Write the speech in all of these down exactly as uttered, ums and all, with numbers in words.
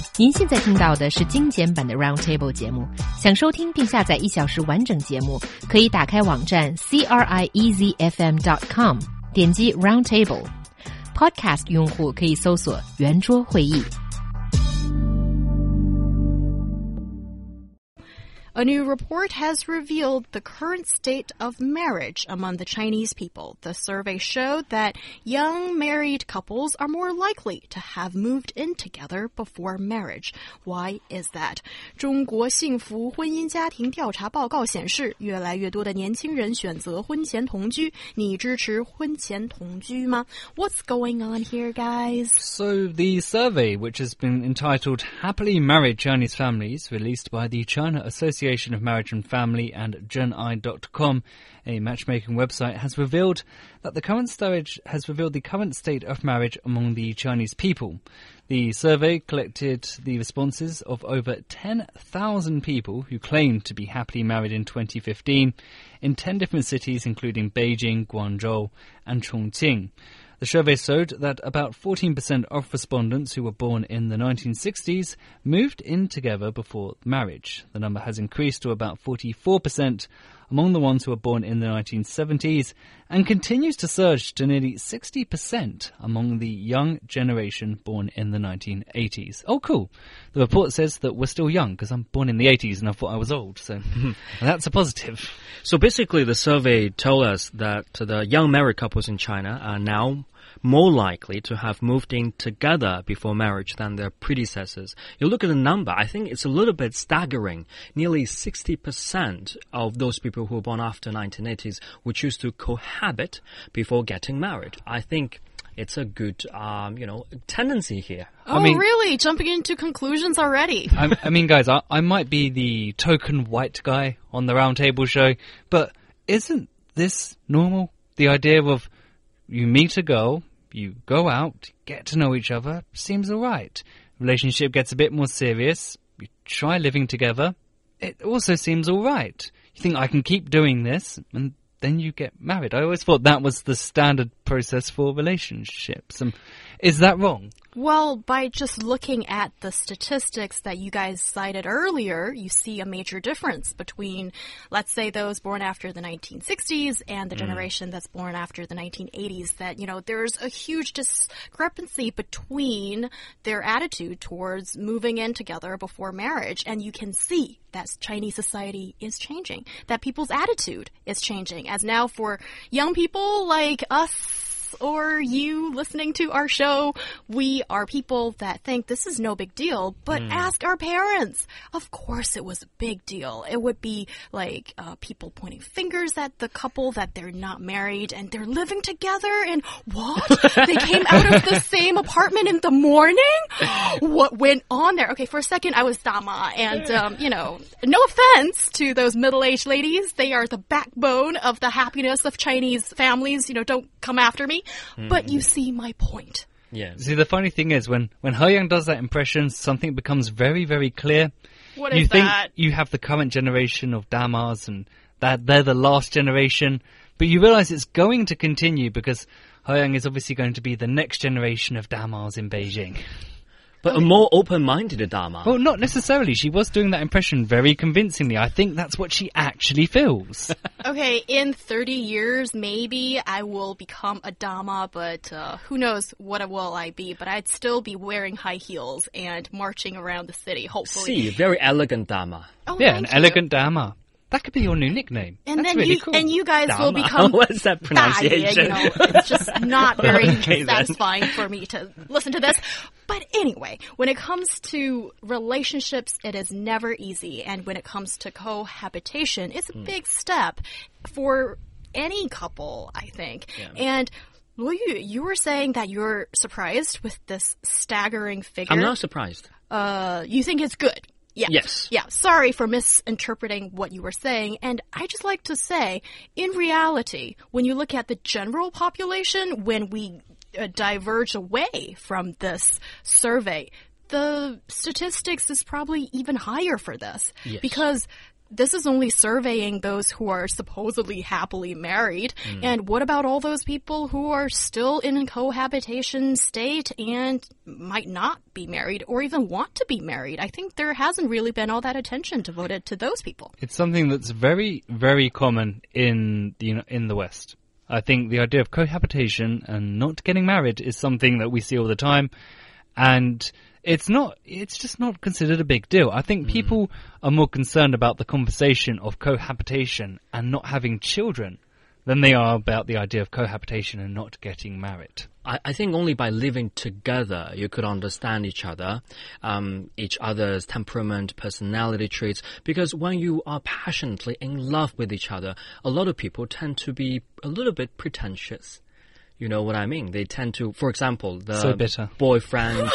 您现在听到的是精简版的 Roundtable 节目。想收听并下载一小时完整节目，可以打开网站 c r i e z f m dot com， 点击 Roundtable。Podcast 用户可以搜索圆桌会议。 A new report has revealed the current state of marriage among the Chinese people. The survey showed that young married couples are more likely to have moved in together before marriage. Why is that? 中国幸福婚姻家庭调查报告显示，越来越多的年轻人选择婚前同居。你支持婚前同居吗？ What's going on here, guys? So the survey, which has been entitled Happily Married Chinese Families, released by the China Association of Marriage and Family and Zhen I dot com, a matchmaking website, has revealed that the current stage has revealed the current state of marriage among the Chinese people. The survey collected the responses of over ten thousand people who claimed to be happily married in twenty fifteen in ten different cities, including Beijing, Guangzhou, and Chongqing. The survey showed that about fourteen percent of respondents who were born in the nineteen sixties moved in together before marriage. The number has increased to about forty-four percent among the ones who were born in the nineteen seventies and continues to surge to nearly sixty percent among the young generation born in the nineteen eighties. Oh, cool. The report says that we're still young because I'm born in the eighties and I thought I was old, so that's a positive. So basically the survey told us that the young married couples in China are now more likely to have moved in together before marriage than their predecessors. You look at the number, I think it's a little bit staggering. Nearly sixty percent of those people who were born after nineteen eighties would choose to cohabit before getting married. I think it's a good, um, you know, tendency here. Oh, I mean, really? Jumping into conclusions already? I, I mean, guys, I, I might be the token white guy on the Roundtable show, but isn't this normal? The idea of you meet a girl, you go out, get to know each other, seems alright. Relationship gets a bit more serious, you try living together, it also seems alright. You think, I can keep doing this, and then you get married. I always thought that was the standard process for relationships. Um, is that wrong? Well, by just looking at the statistics that you guys cited earlier, you see a major difference between, let's say, those born after the nineteen sixties and the mm. generation that's born after the nineteen eighties, that, you know, there's a huge discrepancy between their attitude towards moving in together before marriage. And you can see that Chinese society is changing, that people's attitude is changing. As now for young people like us, or you listening to our show, we are people that think this is no big deal, but mm. ask our parents. Of course it was a big deal. It would be like uh, people pointing fingers at the couple that they're not married and they're living together, and what? They came out of the same apartment in the morning? What went on there? Okay, for a second I was Dama, and um, you know, no offense to those middle-aged ladies. They are the backbone of the happiness of Chinese families. You know, don't come after me. Mm. But you see my point. Yeah. See, the funny thing is, when, when He Yang does that impression, something becomes very, very clear. What you is think that? You have the current generation of Damas, and that they're the last generation, but you realize it's going to continue because He Yang is obviously going to be the next generation of Damas in Beijing. But a more open-minded Dama. Well, not necessarily. She was doing that impression very convincingly. I think that's what she actually feels. Okay, in thirty years, maybe I will become a Dama, but uh, who knows what will I be. But I'd still be wearing high heels and marching around the city, hopefully. See, very elegant Dama. Oh, yeah, an you. elegant Dama. That could be your new nickname. And That's then really you, cool. And you guys Dama. will become... What's that pronunciation? Ah, yeah, you know, it's just not very Okay, satisfying for me to listen to this. But anyway, when it comes to relationships, it is never easy. And when it comes to cohabitation, it's a mm. big step for any couple, I think. Yeah. And... Well, you, you were saying that you're surprised with this staggering figure. I'm not surprised. Uh, you think it's good? Yeah. Yes. Yeah. Sorry for misinterpreting what you were saying. And I just like to say, in reality, when you look at the general population, when we uh, diverge away from this survey, the statistics is probably even higher for this. Yes. Because this is only surveying those who are supposedly happily married. Mm. And what about all those people who are still in a cohabitation state and might not be married or even want to be married? I think there hasn't really been all that attention devoted to those people. It's something that's very, very common in the, in the West. I think the idea of cohabitation and not getting married is something that we see all the time. And it's not, it's just not considered a big deal. I think mm. people are more concerned about the conversation of cohabitation and not having children than they are about the idea of cohabitation and not getting married. I, I think only by living together you could understand each other, um, each other's temperament, personality traits, because when you are passionately in love with each other, a lot of people tend to be a little bit pretentious. You know what I mean? They tend to, for example, the so bitter. boyfriend...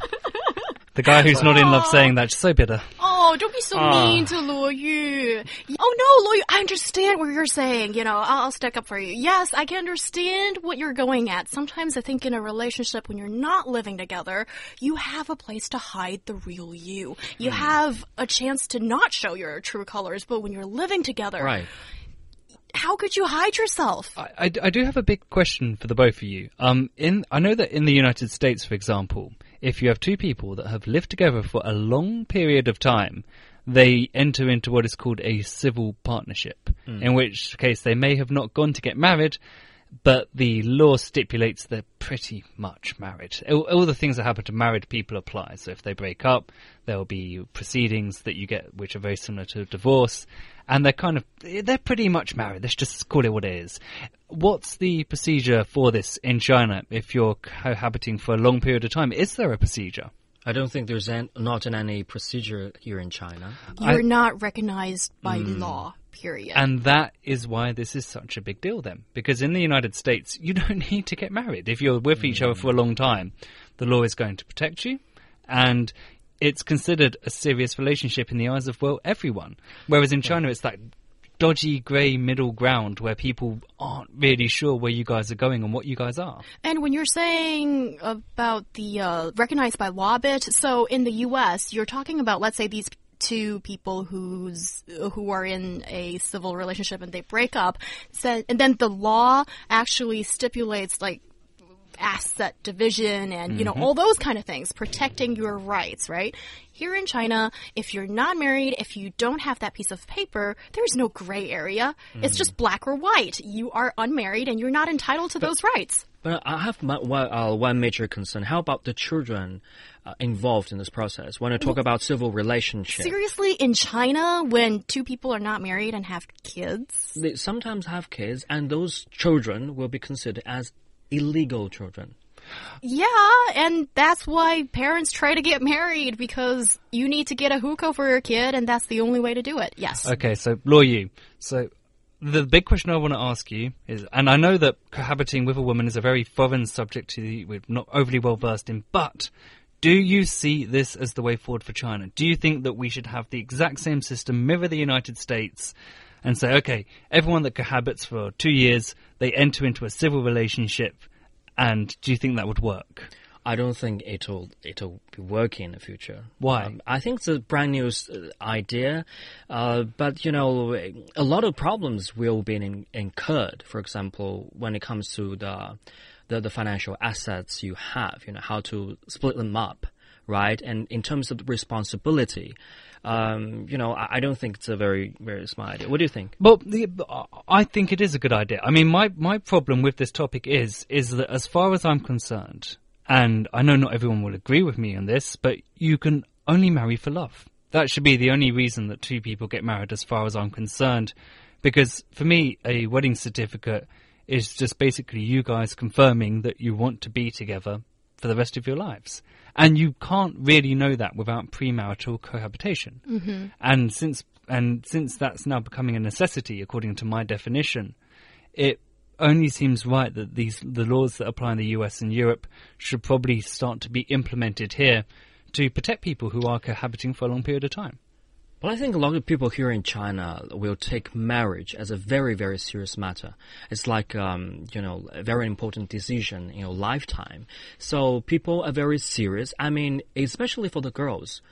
The guy who's not in love saying that, so bitter. Oh, don't be so uh. mean to Luo Yu. Oh no, Luo Yu, I understand what you're saying. You know, I'll, I'll stick up for you. Yes, I can understand what you're going at. Sometimes I think in a relationship when you're not living together, you have a place to hide the real you. You hmm. have a chance to not show your true colors, but when you're living together... Right. How could you hide yourself? I, I, I do have a big question for the both of you. Um, in I know that in the United States, for example, if you have two people that have lived together for a long period of time, they enter into what is called a civil partnership, mm. in which case they may have not gone to get married, but the law stipulates they're pretty much married. All, all the things that happen to married people apply. So if they break up, there will be proceedings that you get which are very similar to divorce. And they're kind of, they're pretty much married. Let's just call it what it is. What's the procedure for this in China if you're cohabiting for a long period of time? Is there a procedure? I don't think there's an, not any procedure here in China. You're I, not recognized by mm. law, period. And that is why this is such a big deal then. Because in the United States, you don't need to get married. If you're with mm. each other for a long time, the law is going to protect you. And it's considered a serious relationship in the eyes of, well, everyone. Whereas in China, it's that dodgy grey middle ground where people aren't really sure where you guys are going and what you guys are. And when you're saying about the uh, recognized by law bit, so in the U S, you're talking about, let's say, these two people who's who are in a civil relationship and they break up, so, and then the law actually stipulates, like, asset division and, you know, mm-hmm. all those kind of things, protecting your rights, right? Here in China, if you're not married, if you don't have that piece of paper, there's no gray area. Mm. It's just black or white. You are unmarried and you're not entitled to but, those rights. But I have my, uh, one major concern. How about the children uh, involved in this process? When I talk well, about civil relationships. Seriously, in China, when two people are not married and have kids? They sometimes have kids, and those children will be considered as illegal children. Yeah, and that's why parents try to get married, because you need to get a hukou for your kid, and that's the only way to do it. Yes. Okay, so Luo Yu, so the big question I want to ask you is, and I know that cohabiting with a woman is a very foreign subject to you, we're not overly well versed in, but do you see this as the way forward for China? Do you think that we should have the exact same system, mirror the United States, and say, okay, everyone that cohabits for two years, they enter into a civil relationship, and do you think that would work? I don't think it'll it'll be working in the future. Why? Um, I think it's a brand new uh, idea, uh, but you know, a lot of problems will be in, incurred. For example, when it comes to the, the the financial assets you have, you know, how to split them up, right? And in terms of the responsibility. Um, you know, I, I don't think it's a very, very smart idea. What do you think? Well, the, I think it is a good idea. I mean, my, my problem with this topic is, is that as far as I'm concerned, and I know not everyone will agree with me on this, but you can only marry for love. That should be the only reason that two people get married as far as I'm concerned. Because for me, a wedding certificate is just basically you guys confirming that you want to be together for the rest of your lives. And you can't really know that without premarital cohabitation. Mm-hmm. And since and since that's now becoming a necessity, according to my definition, it only seems right that these the laws that apply in the U S and Europe should probably start to be implemented here to protect people who are cohabiting for a long period of time. Well, I think a lot of people here in China will take marriage as a very, very serious matter. It's like, um, you know, a very important decision in your lifetime. So people are very serious. I mean, especially for the girls.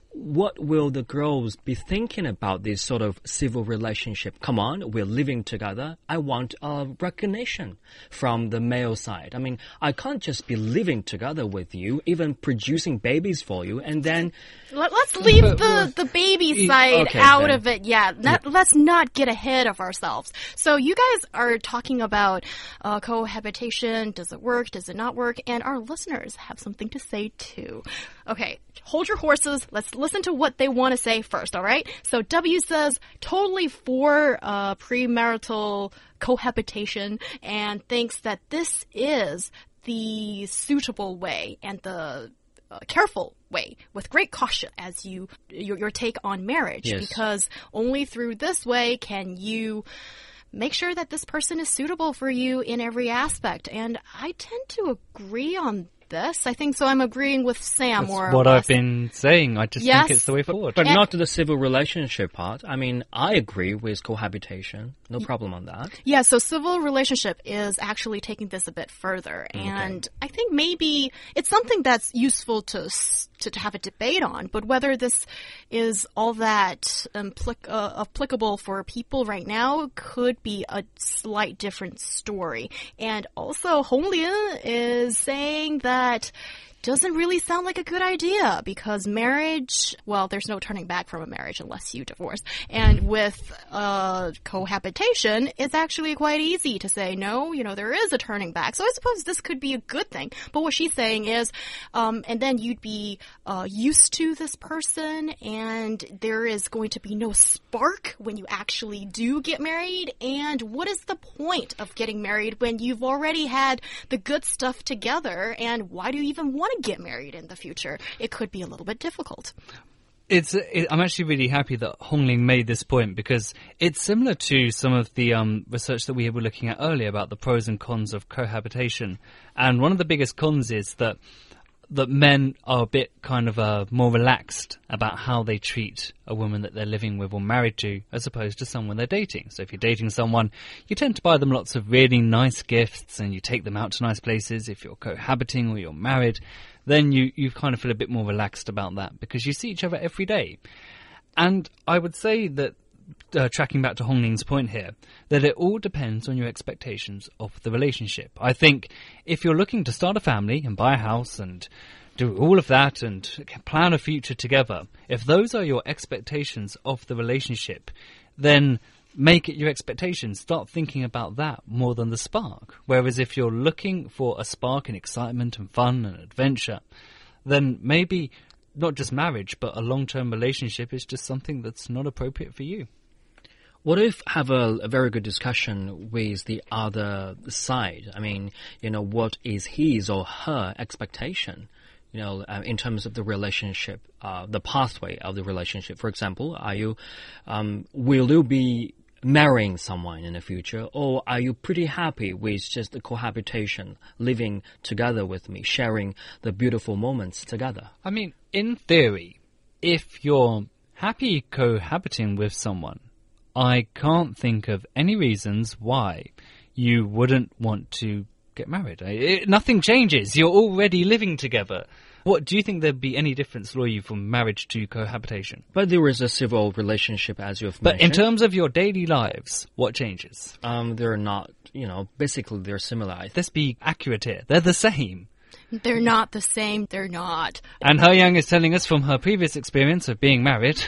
what will the girls be thinking about this sort of civil relationship? Come on, we're living together. I want uh, recognition from the male side. I mean, I can't just be living together with you, even producing babies for you, and then... Let, let's leave the, the baby side okay, out then. of it. Yeah, not, yeah, let's not get ahead of ourselves. So you guys are talking about uh, cohabitation. Does it work? Does it not work? And our listeners have something to say too. Okay, hold your horses. Let's listen to what they want to say first, all right? So W says totally for uh, premarital cohabitation and thinks that this is the suitable way and the uh, careful way with great caution as you your, your take on marriage, yes, because only through this way can you make sure that this person is suitable for you in every aspect. And I tend to agree on this. I think so. I'm agreeing with Sam. That's more what or I've less. been saying. I just Yes. think it's the way forward. But And- not the civil relationship part. I mean, I agree with cohabitation. No problem on that. Yeah, so civil relationship is actually taking this a bit further. And I think maybe it's something that's useful to, s- to, to have a debate on, but whether this is all that implic- uh, applicable for people right now could be a slight different story. And also, Hong Lian is saying that doesn't really sound like a good idea because marriage, well, there's no turning back from a marriage unless you divorce. And with uh, cohabitation, it's actually quite easy to say, no, you know, there is a turning back. So I suppose this could be a good thing. But what she's saying is, um, and then you'd be uh, used to this person and there is going to be no spark when you actually do get married. And what is the point of getting married when you've already had the good stuff together? And why do you even want to get married in the future? It could be a little bit difficult. It's. It, I'm actually really happy that Hong Ling made this point because it's similar to some of the um, research that we were looking at earlier about the pros and cons of cohabitation. And one of the biggest cons is that that men are a bit kind of uh, more relaxed about how they treat a woman that they're living with or married to as opposed to someone they're dating. So if you're dating someone, you tend to buy them lots of really nice gifts and you take them out to nice places. If you're cohabiting or you're married, then you, you kind of feel a bit more relaxed about that because you see each other every day. And I would say that, uh, tracking back to Hong Ling's point here, that it all depends on your expectations of the relationship. I think if you're looking to start a family and buy a house and do all of that and plan a future together, if those are your expectations of the relationship, then make it your expectations. Start thinking about that more than the spark. Whereas if you're looking for a spark and excitement and fun and adventure, then maybe not just marriage, but a long-term relationship is just something that's not appropriate for you. What if have a, a very good discussion with the other side? I mean, you know, what is his or her expectation? You know, uh, in terms of the relationship, uh, the pathway of the relationship. For example, are you, um, will you be marrying someone in the future, or are you pretty happy with just the cohabitation, living together with me, sharing the beautiful moments together? I mean, in theory, if you're happy cohabiting with someone, I can't think of any reasons why you wouldn't want to get married. It, nothing changes. You're already living together. What do you think there'd be any difference for you from marriage to cohabitation? But there is a civil relationship, as you've But mentioned. in terms of your daily lives, what changes? um, they're not, you know, basically they're similar. I think. Let's be accurate here. They're the same. They're not the same. They're not. And He Yang is telling us from her previous experience of being married.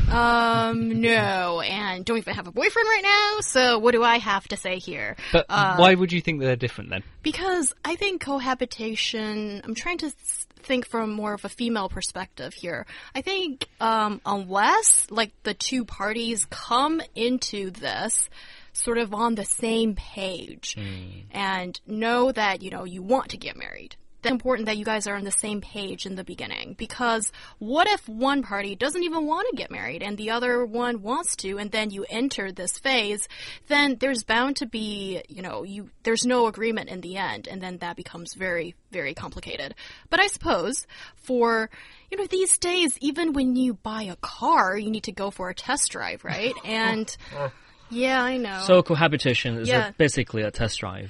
Um, no, and don't even have a boyfriend right now, so what do I have to say here? But Uh, why would you think they're different then? Because I think cohabitation, I'm trying to s- think from more of a female perspective here. I think um, unless like the two parties come into this sort of on the same page and know that, you know, you want to get married, it's important that you guys are on the same page in the beginning, because what if one party doesn't even want to get married and the other one wants to, and then you enter this phase, then there's bound to be, you know, you there's no agreement in the end, and then that becomes very, very complicated. But I suppose for, you know, these days, even when you buy a car, you need to go for a test drive, right? And yeah, I know. So cohabitation is Yeah. a, basically a test drive.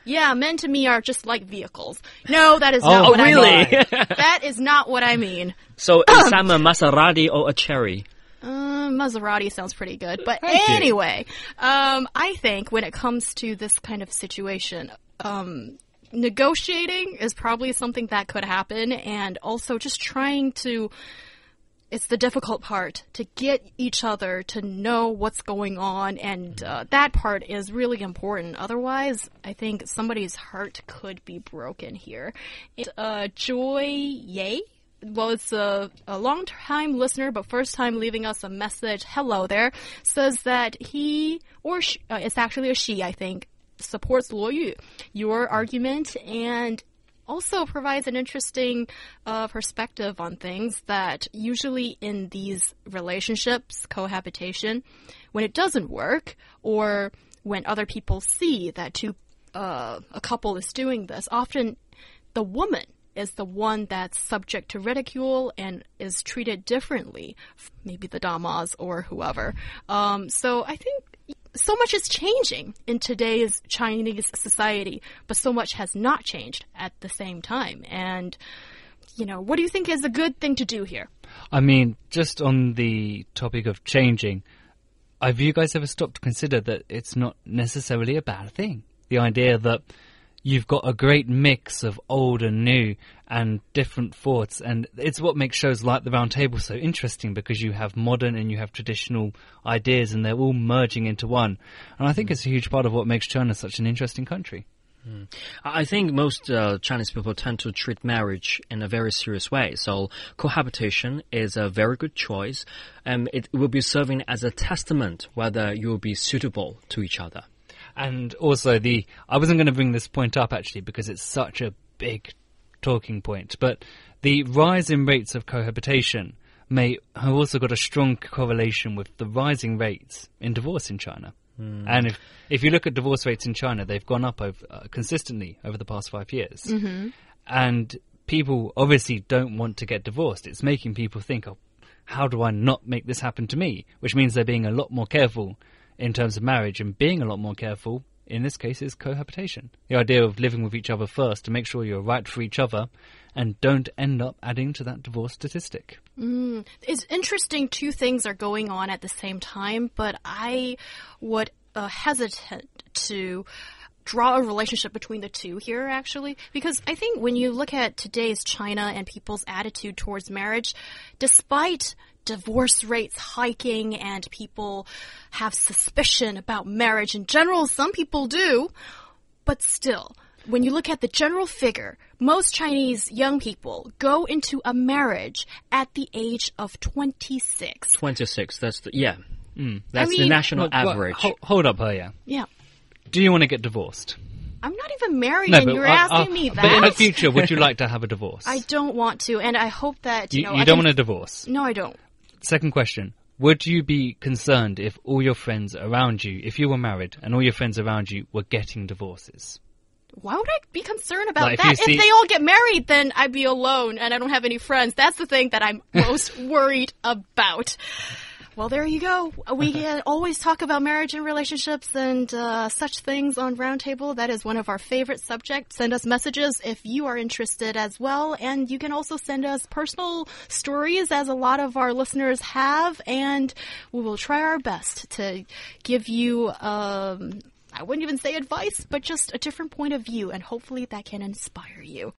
Yeah, men to me are just like vehicles. No, that is Oh, not what really? I mean. That is not what I mean. So is Sam a Maserati or a Cherry? Uh, Maserati sounds pretty good. But Thank you. anyway, um, I think when it comes to this kind of situation, um, negotiating is probably something that could happen, and also just trying to, it's the difficult part, to get each other to know what's going on, and uh, that part is really important. Otherwise, I think somebody's heart could be broken here. It, uh, Joy Ye? Well, it's a, a long-time listener, but first time leaving us a message. Hello there. Says that he, or she, uh, it's actually a she, I think, supports Luo Yu, your argument, and also provides an interesting uh, perspective on things that usually in these relationships, cohabitation, when it doesn't work, or when other people see that two, uh, a couple is doing this, often the woman is the one that's subject to ridicule and is treated differently, maybe the damas or whoever. Um, so I think so much is changing in today's Chinese society, but so much has not changed at the same time. And, you know, what do you think is a good thing to do here? I mean, just on the topic of changing, have you guys ever stopped to consider that it's not necessarily a bad thing? The idea that you've got a great mix of old and new and different thoughts, and it's what makes shows like The Round Table so interesting, because you have modern and you have traditional ideas and they're all merging into one. And I think it's a huge part of what makes China such an interesting country. Mm. I think most uh, Chinese people tend to treat marriage in a very serious way. So cohabitation is a very good choice, and it will be serving as a testament whether you will be suitable to each other. And also, the I wasn't going to bring this point up, actually, because it's such a big talking point, but the rise in rates of cohabitation may have also got a strong correlation with the rising rates in divorce in China. Mm. And if, if you look at divorce rates in China, they've gone up over, uh, consistently over the past five years. Mm-hmm. And people obviously don't want to get divorced. It's making people think, oh, how do I not make this happen to me? Which means they're being a lot more careful in terms of marriage, and being a lot more careful in this case is cohabitation. The idea of living with each other first to make sure you're right for each other and don't end up adding to that divorce statistic. Mm. It's interesting two things are going on at the same time, but I would uh, hesitate to draw a relationship between the two here, actually, because I think when you look at today's China and people's attitude towards marriage, despite divorce rates hiking and people have suspicion about marriage in general, some people do, but still, when you look at the general figure, most Chinese young people go into a marriage at the age of twenty-six. twenty-six, that's the, yeah, Mm. that's I the mean- national Well, well, average. ho- hold up, Heya. Yeah. Do you want to get divorced? I'm not even married, No, and but, you're uh, asking uh, me that. But in the future, would you like to have a divorce? I don't want to, and I hope that, you, You, know... you I don't can- want a divorce? No, I don't. Second question. Would you be concerned if all your friends around you, if you were married and all your friends around you were getting divorces? Why would I be concerned about Like, if that? you If, see- they all get married, then I'd be alone and I don't have any friends. That's the thing that I'm most worried about. Well, there you go. We can always talk about marriage and relationships and uh, such things on Roundtable. That is one of our favorite subjects. Send us messages if you are interested as well. And you can also send us personal stories, as a lot of our listeners have. And we will try our best to give you... Um, I wouldn't even say advice, but just a different point of view, and hopefully that can inspire you.